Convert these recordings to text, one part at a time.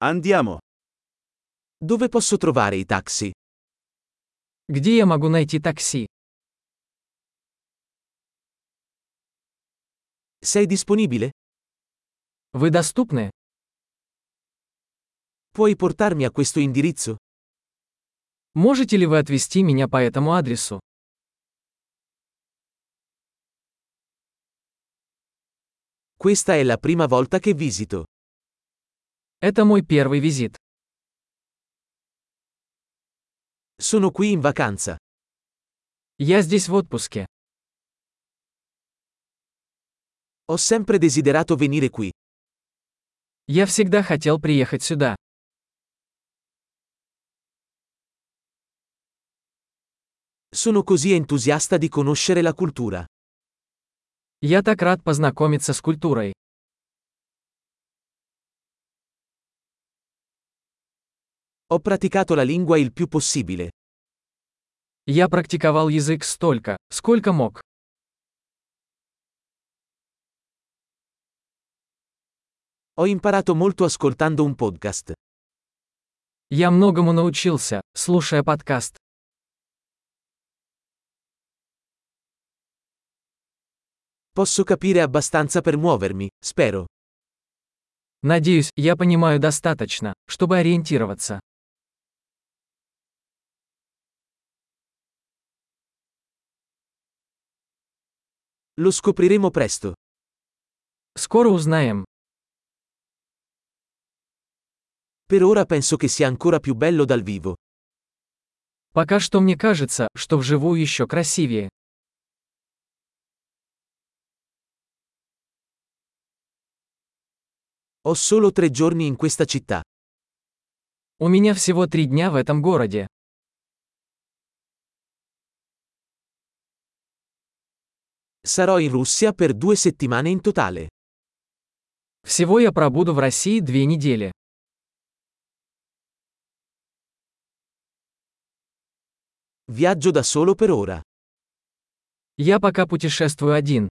Andiamo. Dove posso trovare i taxi? Где я могу найти такси? Sei disponibile? Вы доступны? Puoi portarmi a questo indirizzo? Можете ли вы отвезти меня по этому адресу? Questa è la prima volta che visito. Это мой первый визит. Sono qui in vacanza. Я здесь в отпуске. Ho sempre desiderato venire qui. Я всегда хотел приехать сюда. Sono così entusiasta di conoscere la cultura. Я так рад познакомиться с культурой. Ho praticato la lingua il più possibile. Я практиковал язык столько, сколько мог. Ho imparato molto ascoltando un podcast. Я многому научился, слушая подкаст. Posso capire abbastanza per muovermi, spero. Надеюсь, я понимаю достаточно, чтобы ориентироваться. Lo scopriremo presto. Скоро узнаем. Per ora penso che sia ancora più bello dal vivo. Пока что мне кажется, что вживую еще красивее. Ho solo 3 giorni in questa città. У меня всего 3 дня в этом городе. Sarò in Russia per 2 settimane in totale. Всего я пробуду в России 2 недели. Viaggio da solo per ora. Я пока путешествую один.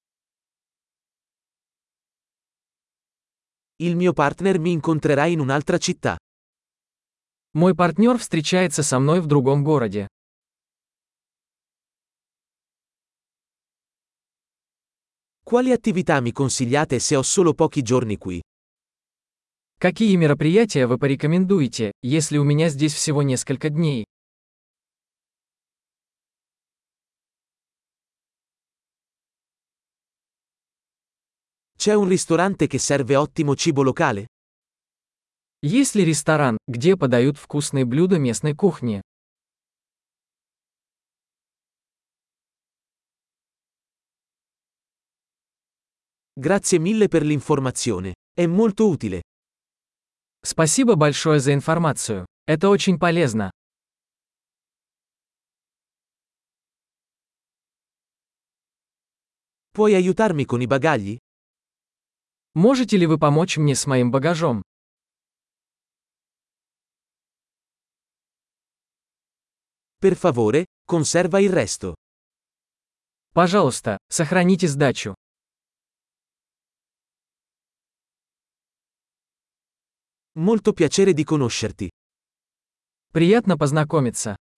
Il mio partner mi incontrerà in un'altra città. Мой партнер встречается со мной в другом городе. Quali attività mi consigliate se ho solo pochi giorni qui? Какие мероприятия вы порекомендуете, если у меня здесь всего несколько дней? C'è un ristorante che serve ottimo cibo locale? Есть ли ресторан, где подают вкусные блюда местной кухни? Grazie mille per l'informazione. È molto utile. Спасибо большое за информацию. Это очень полезно. Puoi aiutarmi con i bagagli? Можете ли вы помочь мне с моим багажом? Per favore, conserva il resto. Пожалуйста, сохраните сдачу. Molto piacere di conoscerti. Приятно познакомиться.